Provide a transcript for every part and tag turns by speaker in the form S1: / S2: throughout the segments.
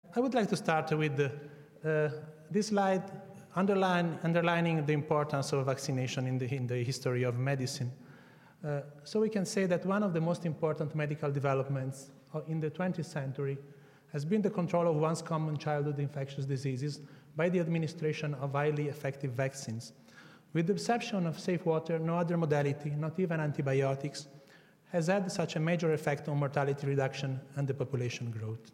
S1: I would like to start with this slide underlining the importance of vaccination in the history of medicine. So we can say that one of the most important medical developments in the 20th century has been the control of once common childhood infectious diseases by the administration of highly effective vaccines. With the exception of safe water, no other modality, not even antibiotics, has had such a major effect on mortality reduction and the population growth.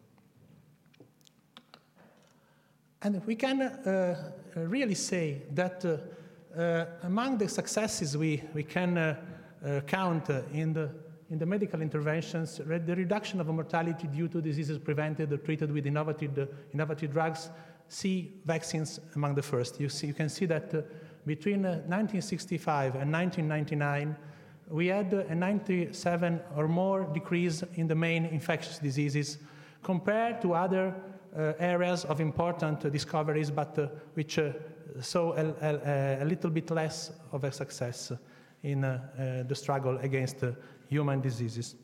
S1: And we can really say that among the successes we can count in the medical interventions, the reduction of mortality due to diseases prevented or treated with innovative drugs, see vaccines among the first. You can see that between 1965 and 1999, we had a 97 or more decrease in the main infectious diseases compared to other areas of important discoveries, but which saw a little bit less of a success in the struggle against human diseases.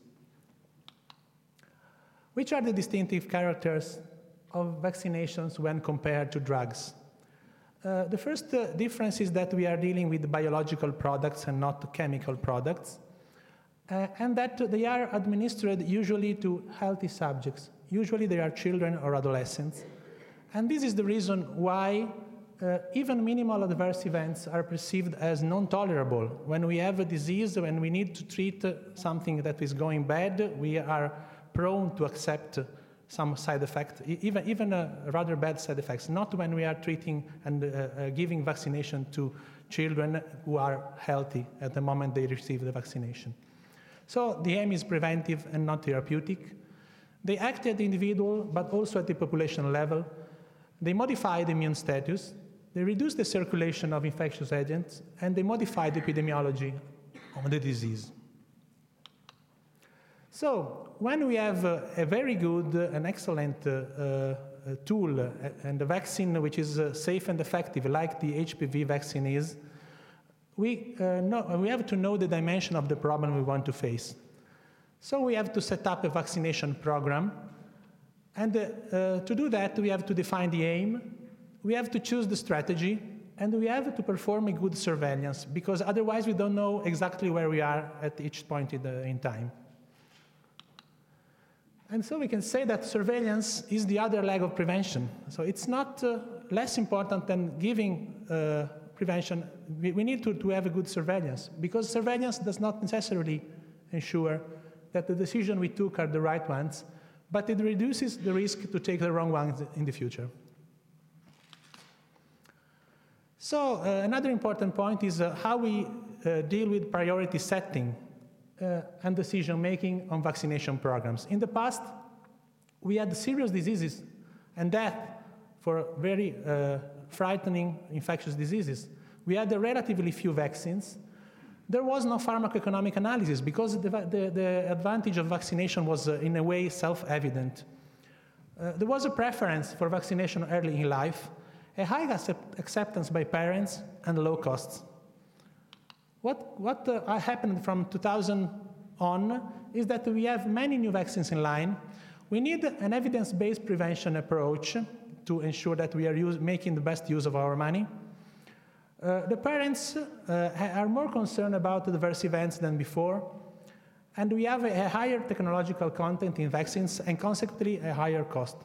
S1: Which are the distinctive characters of vaccinations when compared to drugs? The first difference is that we are dealing with biological products and not chemical products, and that they are administered usually to healthy subjects. Usually they are children or adolescents. And this is the reason why even minimal adverse events are perceived as non-tolerable. When we have a disease, when we need to treat something that is going bad, we are prone to accept some side effect, even rather bad side effects, not when we are treating and giving vaccination to children who are healthy at the moment they receive the vaccination. So the aim is preventive and not therapeutic. They act at the individual, but also at the population level. They modify the immune status. They reduce the circulation of infectious agents, and they modify the epidemiology of the disease. So when we have a very good and excellent tool and a vaccine which is safe and effective, like the HPV vaccine is, we have to know the dimension of the problem we want to face. So we have to set up a vaccination program. And to do that, we have to define the aim, we have to choose the strategy, and we have to perform a good surveillance, because otherwise we don't know exactly where we are at each point in time. And so we can say that surveillance is the other leg of prevention. So it's not less important than giving prevention. We need to have a good surveillance, because surveillance does not necessarily ensure that the decisions we took are the right ones, but it reduces the risk to take the wrong ones in the future. So another important point is how we deal with priority setting and decision-making on vaccination programs. In the past, we had serious diseases and death for very frightening infectious diseases. We had relatively few vaccines. There was no pharmacoeconomic analysis because the advantage of vaccination was in a way self-evident. There was a preference for vaccination early in life, a high acceptance by parents, and low costs. What happened from 2000 on is that we have many new vaccines in line. We need an evidence-based prevention approach to ensure that we are making the best use of our money. The parents are more concerned about adverse events than before, and we have a higher technological content in vaccines and consequently a higher cost.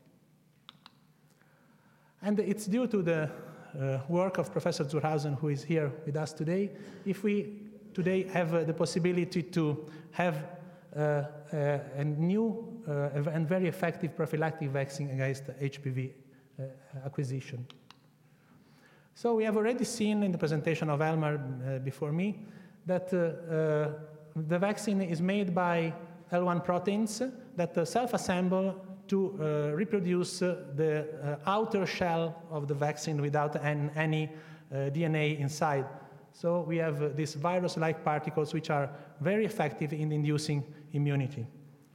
S1: And it's due to the work of Professor Zurhausen, who is here with us today, if we today have the possibility to have a new and very effective prophylactic vaccine against HPV acquisition. So we have already seen in the presentation of Elmar before me that the vaccine is made by L1 proteins that self-assemble to reproduce the outer shell of the vaccine without any DNA inside. So we have these virus-like particles which are very effective in inducing immunity.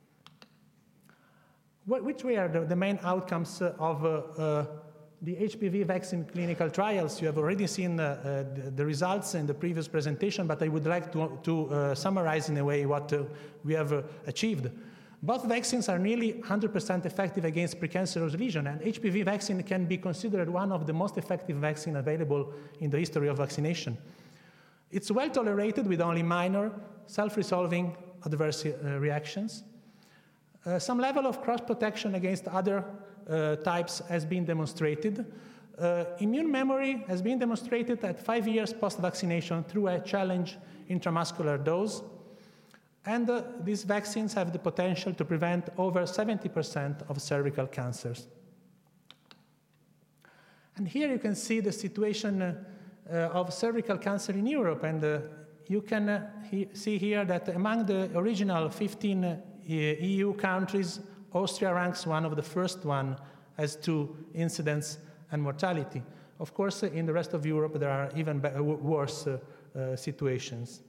S1: Which were the main outcomes of the HPV vaccine clinical trials? You have already seen the results in the previous presentation, but I would like to summarize in a way what we have achieved. Both vaccines are nearly 100% effective against precancerous lesion, and HPV vaccine can be considered one of the most effective vaccines available in the history of vaccination. It's well tolerated with only minor, self-resolving adverse reactions. Some level of cross-protection against other types has been demonstrated. Immune memory has been demonstrated at 5 years post-vaccination through a challenge intramuscular dose. And these vaccines have the potential to prevent over 70% of cervical cancers. And here you can see the situation of cervical cancer in Europe. And you can see here that among the original 15 EU countries, Austria ranks one of the first one as to incidence and mortality. Of course, in the rest of Europe, there are even worse situations.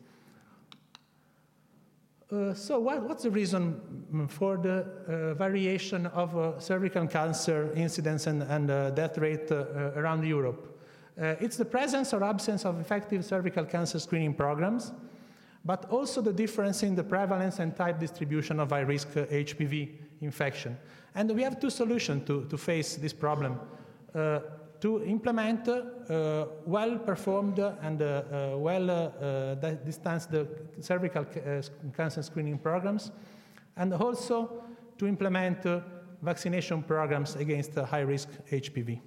S1: So what's the reason for the variation of cervical cancer incidence and death rate around Europe? It's the presence or absence of effective cervical cancer screening programs, but also the difference in the prevalence and type distribution of high-risk HPV infection. And we have two solutions to face this problem. To implement well-performed and well-distanced cervical cancer screening programs, and also to implement vaccination programs against high-risk HPV.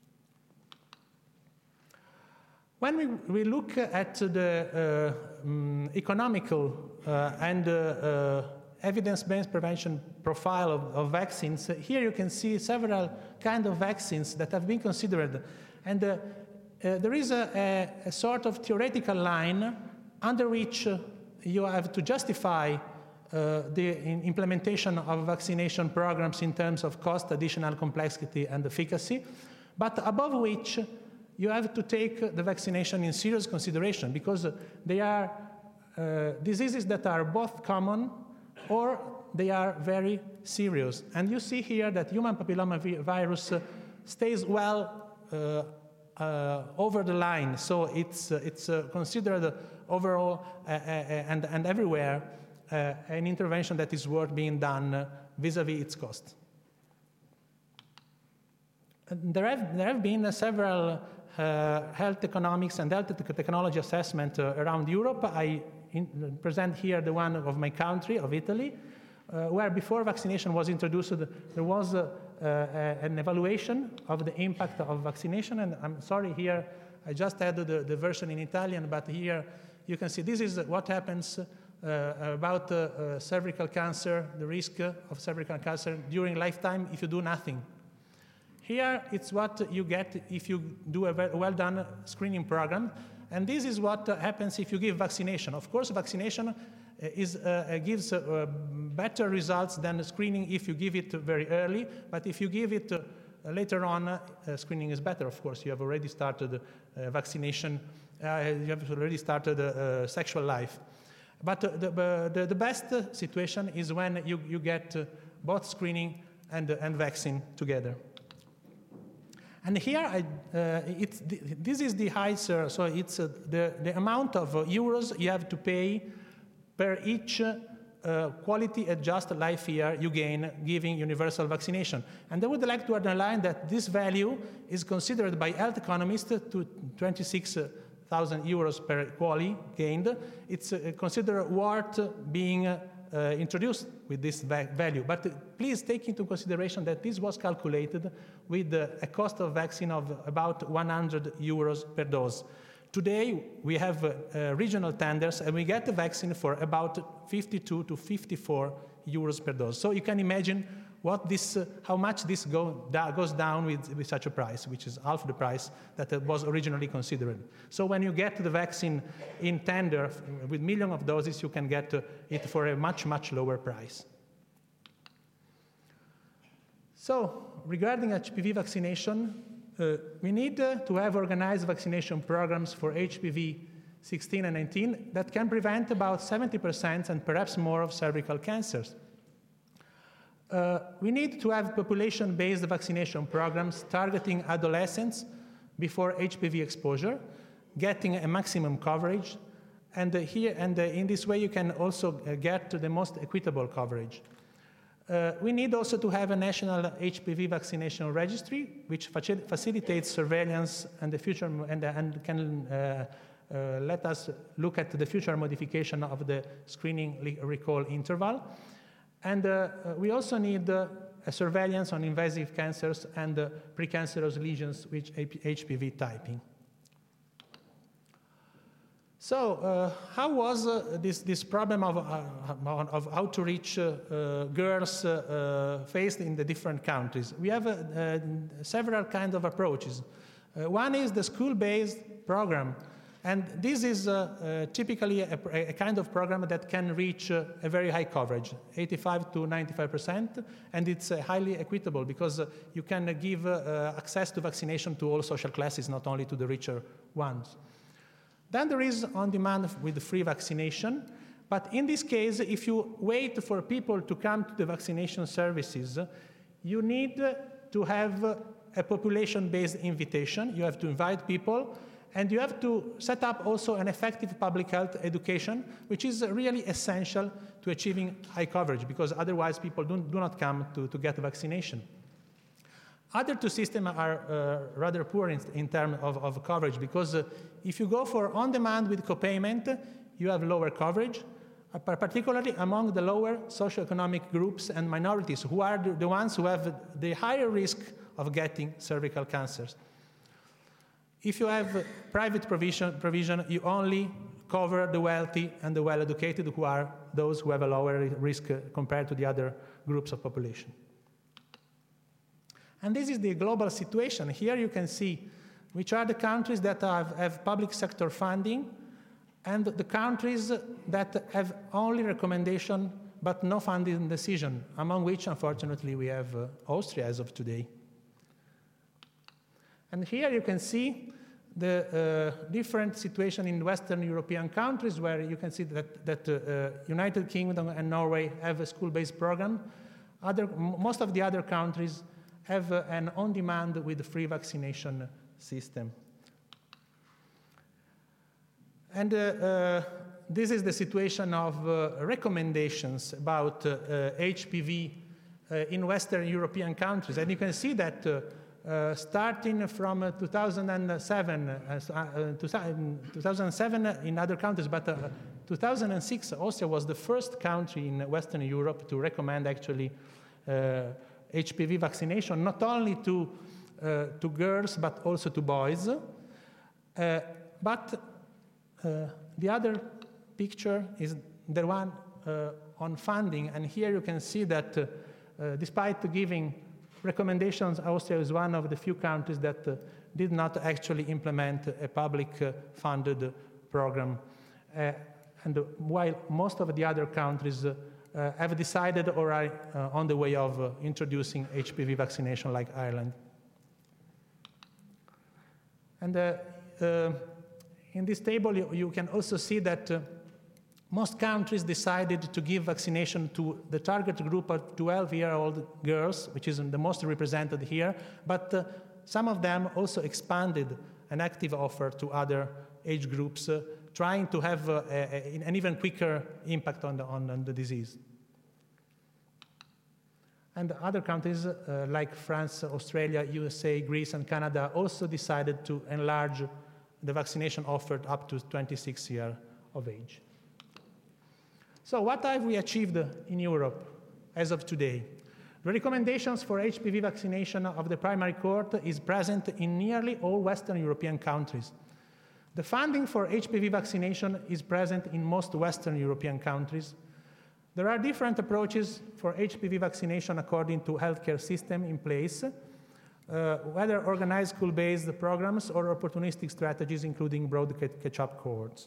S1: When we look at the economical and evidence-based prevention profile of vaccines, here you can see several kinds of vaccines that have been considered. And there is a sort of theoretical line under which you have to justify the implementation of vaccination programs in terms of cost, additional complexity, and efficacy, but above which you have to take the vaccination in serious consideration because they are diseases that are both common or they are very serious. And you see here that human papillomavirus stays well over the line, so it's considered overall and everywhere an intervention that is worth being done vis-a-vis its cost. And there have been several health economics and health technology assessment around Europe. I present here the one of my country, of Italy, where before vaccination was introduced, there was an evaluation of the impact of vaccination. And I'm sorry here, I just added the version in Italian, but here you can see this is what happens about cervical cancer, the risk of cervical cancer during lifetime if you do nothing. Here, it's what you get if you do a well-done screening program. And this is what happens if you give vaccination. Of course, vaccination gives better results than screening if you give it very early. But if you give it later on, screening is better, of course. You have already started vaccination. You have already started sexual life. But the best situation is when you get both screening and vaccine together. And here, this is the HICER, so it's the amount of euros you have to pay per each quality-adjusted life year you gain giving universal vaccination. And I would like to underline that this value is considered by health economists to 26,000 euros per quali gained. It's considered worth being introduced with this value. But please take into consideration that this was calculated with a cost of vaccine of about 100 euros per dose. Today, we have regional tenders, and we get the vaccine for about 52 to 54 euros per dose. So you can imagine how much this goes down with such a price, which is half the price that was originally considered. So when you get the vaccine in tender with millions of doses, you can get it for a much, much lower price. So regarding HPV vaccination, we need to have organized vaccination programs for HPV 16 and 19 that can prevent about 70% and perhaps more of cervical cancers. We need to have population-based vaccination programs targeting adolescents before HPV exposure, getting a maximum coverage, and in this way you can also get to the most equitable coverage. We need also to have a national HPV vaccination registry, which facilitates surveillance and the future and can let us look at the future modification of the screening recall interval. And we also need a surveillance on invasive cancers and precancerous lesions with HPV typing. So how was this problem of how to reach girls faced in the different countries? We have several kinds of approaches. One is the school-based program. And this is typically a kind of program that can reach a very high coverage, 85 to 95%, and it's highly equitable because you can give access to vaccination to all social classes, not only to the richer ones. Then there is on-demand with free vaccination, but in this case, if you wait for people to come to the vaccination services, you need to have a population-based invitation. You have to invite people, and you have to set up also an effective public health education, which is really essential to achieving high coverage, because otherwise people do not come to get vaccination. Other two systems are rather poor in terms of coverage, because if you go for on-demand with co-payment, you have lower coverage, particularly among the lower socioeconomic groups and minorities, who are the ones who have the higher risk of getting cervical cancers. If you have private provision, you only cover the wealthy and the well-educated, who are those who have a lower risk compared to the other groups of population. And this is the global situation. Here you can see which are the countries that have public sector funding and the countries that have only recommendation but no funding decision, among which, unfortunately, we have Austria as of today. And here you can see the different situation in Western European countries, where you can see that United Kingdom and Norway have a school-based program. Most of the other countries have an on-demand with free vaccination system. And this is the situation of recommendations about HPV in Western European countries. And you can see that starting from 2007 in other countries, but 2006, Austria was the first country in Western Europe to recommend actually HPV vaccination, not only to girls, but also to boys. But the other picture is the one on funding. And here you can see that despite giving recommendations, Austria is one of the few countries that did not actually implement a public-funded program. And while most of the other countries have decided or are on the way of introducing HPV vaccination, like Ireland. And in this table, you can also see that most countries decided to give vaccination to the target group of 12-year-old girls, which is the most represented here, but some of them also expanded an active offer to other age groups, trying to have an even quicker impact on the disease. And other countries like France, Australia, USA, Greece, and Canada also decided to enlarge the vaccination offered up to 26 years of age. So what have we achieved in Europe as of today? The recommendations for HPV vaccination of the primary cohort is present in nearly all Western European countries. The funding for HPV vaccination is present in most Western European countries. There are different approaches for HPV vaccination according to healthcare system in place, whether organized school-based programs or opportunistic strategies, including broad catch-up cohorts.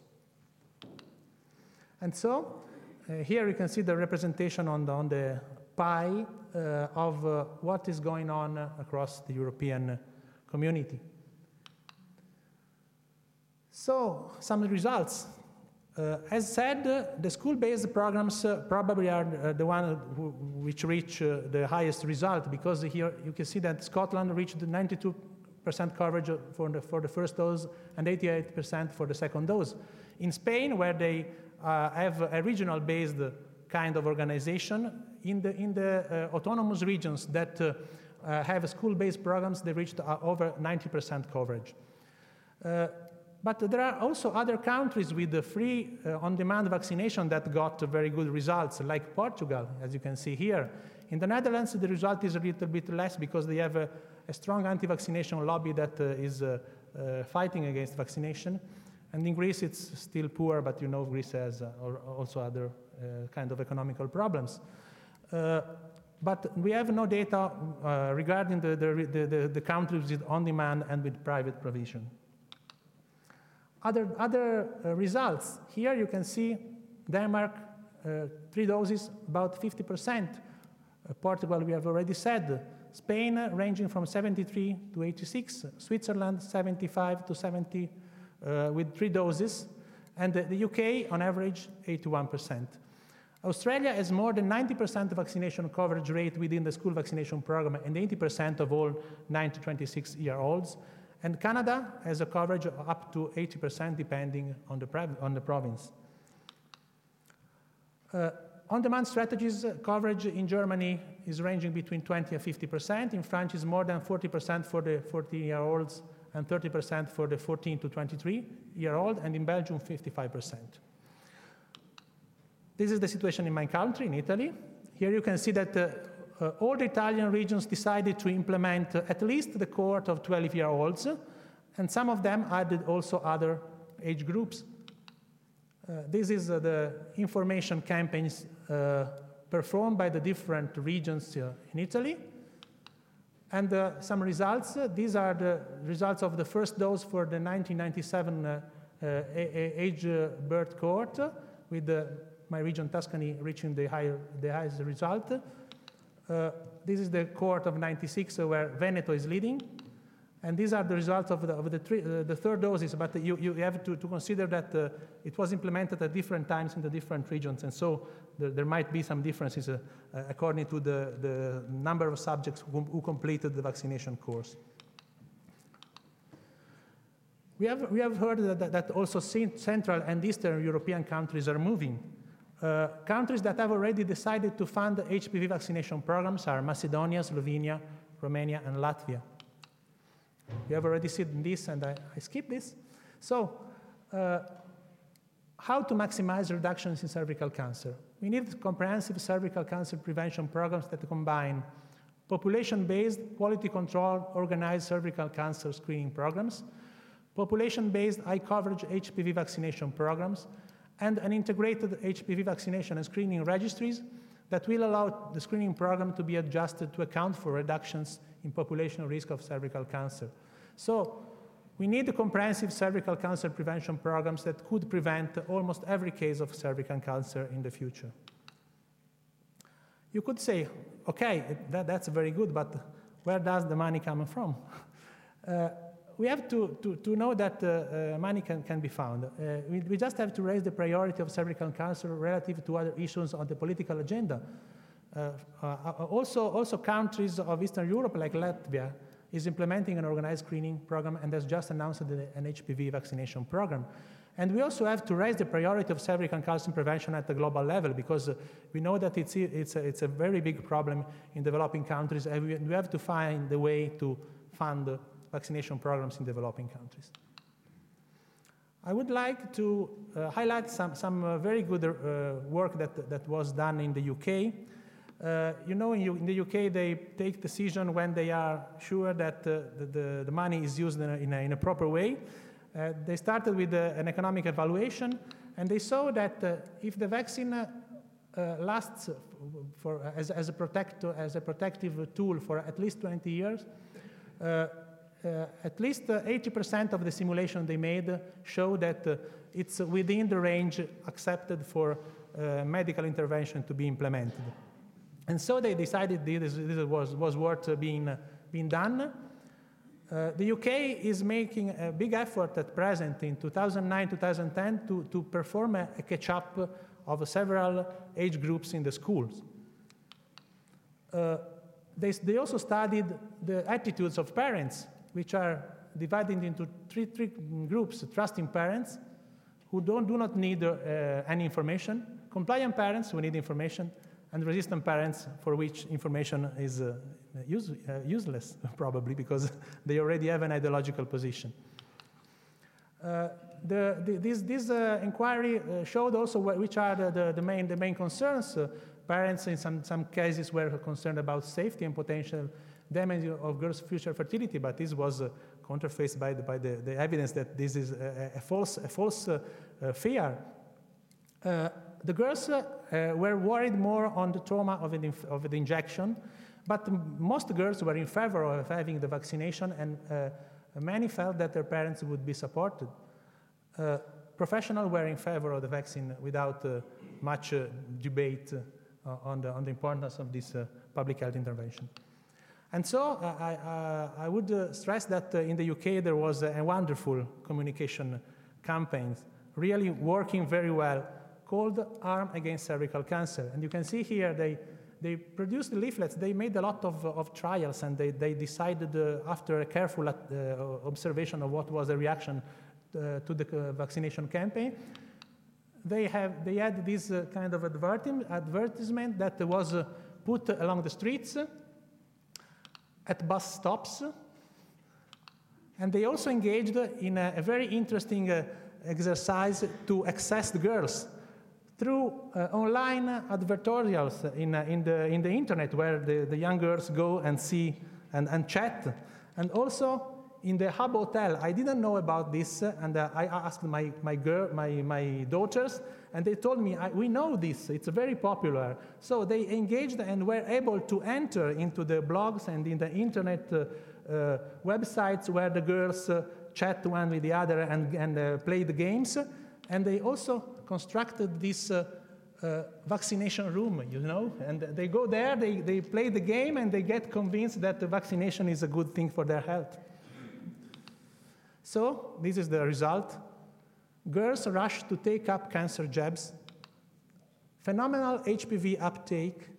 S1: And so, here you can see the representation on the pie of what is going on across the European community. So, some results. As said, the school-based programs probably are the ones which reach the highest result, because here you can see that Scotland reached 92% coverage for the first dose and 88% for the second dose. In Spain, where they have a regional-based kind of organization, in the autonomous regions that have school-based programs, they reached over 90% coverage. But there are also other countries with the free on-demand vaccination that got very good results, like Portugal, as you can see here. In the Netherlands, the result is a little bit less because they have a strong anti-vaccination lobby that is fighting against vaccination. And in Greece, it's still poor, but you know Greece has also other kind of economical problems. But we have no data regarding the countries with on-demand and with private provision. Other results. Here you can see Denmark, 3 doses, about 50%. Portugal, we have already said. Spain, ranging from 73 to 86. Switzerland, 75 to 70 with 3 doses. And the UK, on average, 81%. Australia has more than 90% vaccination coverage rate within the school vaccination program and 80% of all 9 to 26-year-olds. And Canada has a coverage of up to 80% depending on the province. On-demand strategies coverage in Germany is ranging between 20 and 50%. In France, is more than 40% for the 14-year-olds and 30% for the 14 to 23-year-old, and in Belgium, 55%. This is the situation in my country, in Italy. Here you can see that all the Italian regions decided to implement at least the cohort of 12-year-olds, and some of them added also other age groups. This is the information campaigns performed by the different regions in Italy. And some results. These are the results of the first dose for the 1997 age birth cohort, with my region Tuscany reaching the highest result. This is the cohort of 96 where Veneto is leading. And these are the results of the third doses, but you have to consider that it was implemented at different times in the different regions, and so there might be some differences according to the number of subjects who completed the vaccination course. We have heard that also Central and Eastern European countries are moving. Countries that have already decided to fund HPV vaccination programs are Macedonia, Slovenia, Romania, and Latvia. We have already seen this, and I skip this. So, how to maximize reductions in cervical cancer? We need comprehensive cervical cancer prevention programs that combine population-based, quality control, organized cervical cancer screening programs, population-based high-coverage HPV vaccination programs, and an integrated HPV vaccination and screening registries that will allow the screening program to be adjusted to account for reductions in population risk of cervical cancer. So we need comprehensive cervical cancer prevention programs that could prevent almost every case of cervical cancer in the future. You could say, okay, that's very good, but where does the money come from? We have to know that money can be found. We just have to raise the priority of cervical cancer relative to other issues on the political agenda. Also countries of Eastern Europe, like Latvia, is implementing an organized screening program and has just announced an HPV vaccination program. And we also have to raise the priority of cervical cancer prevention at the global level, because we know that it's a very big problem in developing countries, and we have to find a way to fund vaccination programs in developing countries. I would like to highlight some very good work that was done in the UK. You know, in the UK, they take decision when they are sure that the money is used in a proper way. They started with an economic evaluation, and they saw that if the vaccine lasts as a protective tool for at least 20 years, at least 80% of the simulation they made show that it's within the range accepted for medical intervention to be implemented. And so they decided this was worth being done. The UK is making a big effort at present in 2009-2010 to perform a catch-up of several age groups in the schools. They also studied the attitudes of parents, which are divided into three groups: trusting parents, who do not need any information; compliant parents, who need information; and resistant parents for which information is useless, probably, because they already have an ideological position. This inquiry showed also which are the main concerns. Parents in some cases were concerned about safety and potential damage of girls' future fertility, but this was counterfaced by the evidence that this is a false fear. The girls were worried more on the trauma of the injection, but most girls were in favor of having the vaccination, and many felt that their parents would be supported. Professionals were in favor of the vaccine without much debate on the importance of this public health intervention. And so I would stress that in the UK there was a wonderful communication campaign, really working very well, called Arm Against Cervical Cancer. And you can see here they produced leaflets. They made a lot of trials, and they decided after a careful observation of what was the reaction to the vaccination campaign, they had this kind of advertisement that was put along the streets, at bus stops, and they also engaged in a very interesting exercise to access the girls through online advertorials in the internet, where the young girls go and see and chat, and also in the Hub Hotel. I didn't know about this, and I asked my daughters, and they told me, we know this, it's very popular. So they engaged and were able to enter into the blogs and in the internet websites where the girls chat one with the other and play the games. And they also constructed this vaccination room, you know, and they go there, they play the game, and they get convinced that the vaccination is a good thing for their health. So this is the result. Girls rush to take up cancer jabs, phenomenal HPV uptake,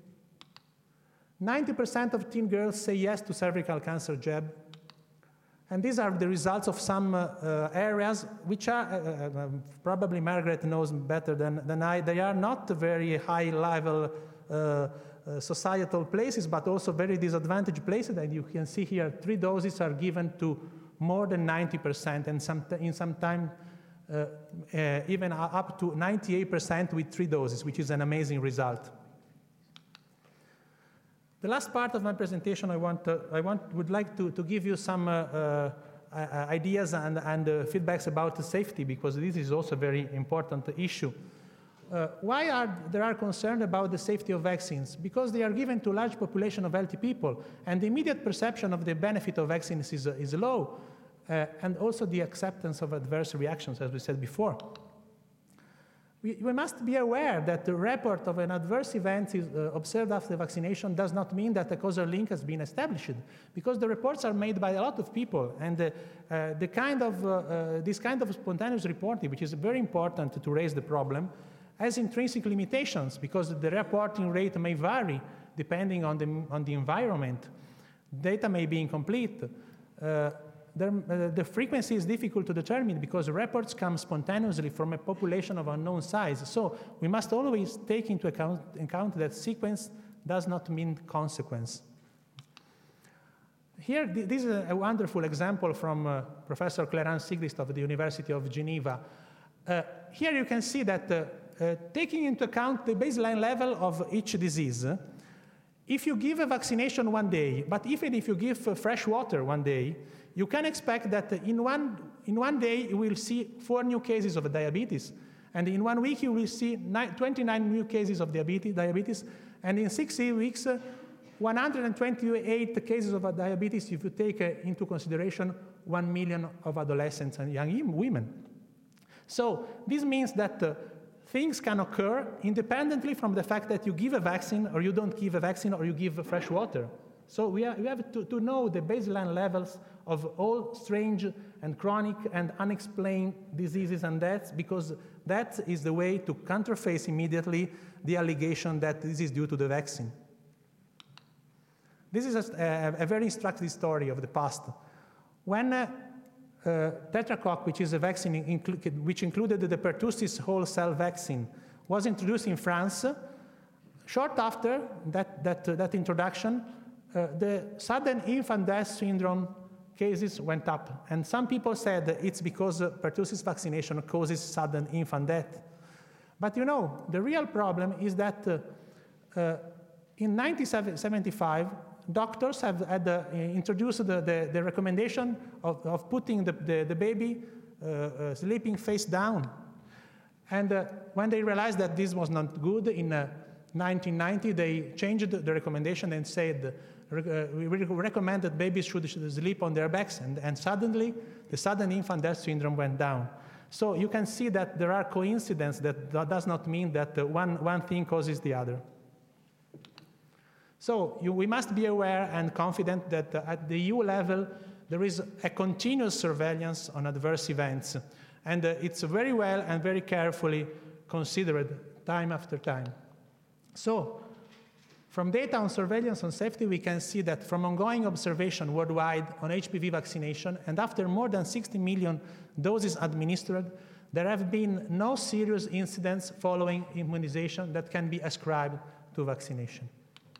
S1: 90% of teen girls say yes to cervical cancer jab, and these are the results of some areas which are, probably Margaret knows better than I, they are not very high-level societal places, but also very disadvantaged places, and you can see here 3 doses are given to more than 90%, and in some time even up to 98% with 3 doses, which is an amazing result. The last part of my presentation, I would like to give you some ideas and feedbacks about the safety, because this is also a very important issue. Why there are concerned about the safety of vaccines? Because they are given to a large population of healthy people, and the immediate perception of the benefit of vaccines is low, and also the acceptance of adverse reactions, as we said before. We must be aware that the report of an adverse event is observed after vaccination does not mean that a causal link has been established, because the reports are made by a lot of people, and this kind of spontaneous reporting, which is very important to raise the problem, has intrinsic limitations, because the reporting rate may vary depending on the environment. Data may be incomplete. The frequency is difficult to determine because reports come spontaneously from a population of unknown size. So we must always take into account that sequence does not mean consequence. Here, this is a wonderful example from Professor Clarence Sigrist of the University of Geneva. Here you can see that taking into account the baseline level of each disease, if you give a vaccination one day, but even if you give fresh water one day, you can expect that in one day you will see 4 new cases of diabetes, and in 1 week you will see 29 new cases of diabetes, and in 6 weeks, 128 cases of diabetes if you take into consideration 1 million of adolescents and young women. So this means that things can occur independently from the fact that you give a vaccine or you don't give a vaccine or you give fresh water. So we have to know the baseline levels of all strange and chronic and unexplained diseases and deaths, because that is the way to counterface immediately the allegation that this is due to the vaccine. This is a very instructive story of the past. When Tetracoque, which is a vaccine which included the pertussis whole cell vaccine, was introduced in France, Short after that introduction, the sudden infant death syndrome cases went up. And some people said that it's because pertussis vaccination causes sudden infant death. But you know, the real problem is that in 1975, doctors had introduced the recommendation of putting the baby sleeping face down. And when they realized that this was not good in 1990, they changed the recommendation and said, we recommend that babies should sleep on their backs, and suddenly the sudden infant death syndrome went down. So you can see that there are coincidences. That does not mean that one thing causes the other. So we must be aware and confident that at the EU level, there is a continuous surveillance on adverse events. And it's very well and very carefully considered time after time. So from data on surveillance on safety, we can see that from ongoing observation worldwide on HPV vaccination, and after more than 60 million doses administered, there have been no serious incidents following immunization that can be ascribed to vaccination.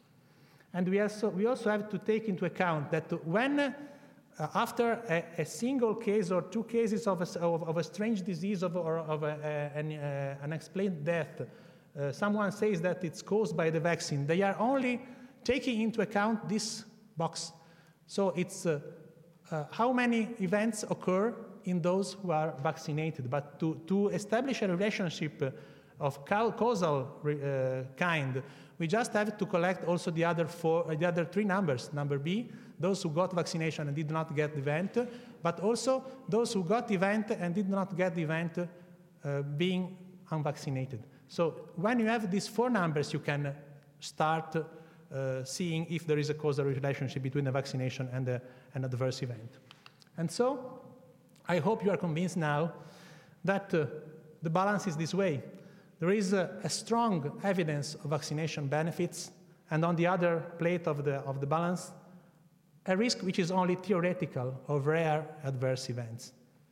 S1: And we also have to take into account that when, after a single case or two cases of a strange disease or of an unexplained death, someone says that it's caused by the vaccine, they are only taking into account this box. So it's how many events occur in those who are vaccinated. But to establish a relationship of causal kind, we just have to collect also the other three numbers. Number B, those who got vaccination and did not get the event, but also those who got the event and did not get the event being unvaccinated. So when you have these four numbers, you can start seeing if there is a causal relationship between the vaccination and an adverse event. And so I hope you are convinced now that the balance is this way. There is a strong evidence of vaccination benefits, and on the other plate of the balance, a risk which is only theoretical of rare adverse events.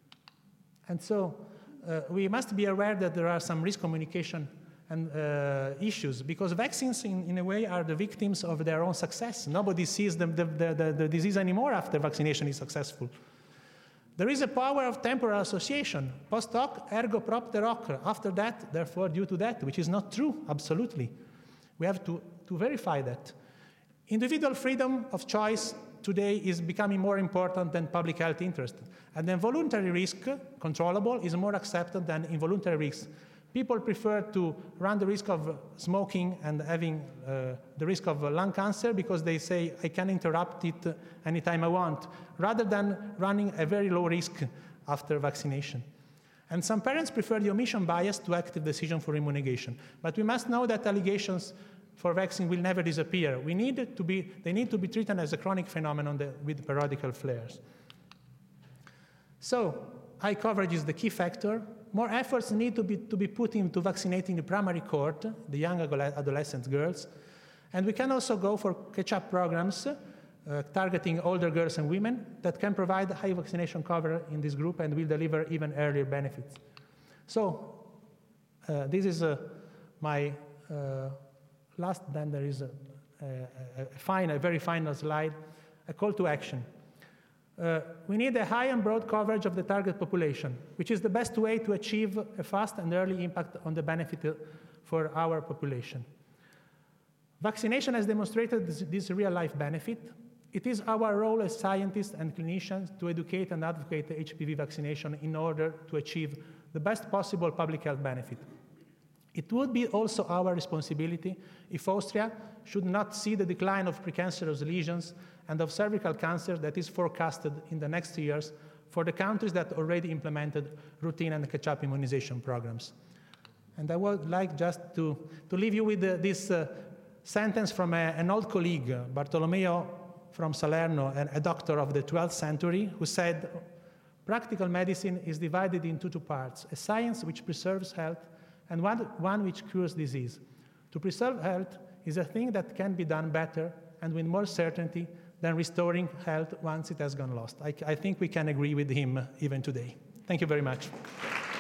S1: And so we must be aware that there are some risk communication and issues, because vaccines, in a way, are the victims of their own success. Nobody sees the disease anymore after vaccination is successful. There is a power of temporal association. Post hoc, ergo propter hoc. After that, therefore, due to that, which is not true, absolutely. We have to verify that. Individual freedom of choice today is becoming more important than public health interest. And then voluntary risk, controllable, is more accepted than involuntary risk. People prefer to run the risk of smoking and having the risk of lung cancer because they say, I can interrupt it anytime I want, rather than running a very low risk after vaccination. And some parents prefer the omission bias to active decision for immunization. But we must know that allegations for vaccine will never disappear. They need to be treated as a chronic phenomenon with periodical flares. So high coverage is the key factor. More efforts need to be put into vaccinating the primary cohort, the young adolescent girls. And we can also go for catch-up programs targeting older girls and women that can provide high vaccination cover in this group and will deliver even earlier benefits. So this is my last, then there is a very final slide, a call to action. We need a high and broad coverage of the target population, which is the best way to achieve a fast and early impact on the benefit for our population. Vaccination has demonstrated this real-life benefit. It is our role as scientists and clinicians to educate and advocate the HPV vaccination in order to achieve the best possible public health benefit. It would be also our responsibility if Austria should not see the decline of precancerous lesions and of cervical cancer that is forecasted in the next years for the countries that already implemented routine and catch-up immunization programs. And I would like just to leave you with this sentence from an old colleague, Bartolomeo from Salerno, a doctor of the 12th century, who said, practical medicine is divided into two parts, a science which preserves health and one which cures disease. To preserve health is a thing that can be done better and with more certainty than restoring health once it has gone lost. I think we can agree with him even today. Thank you very much.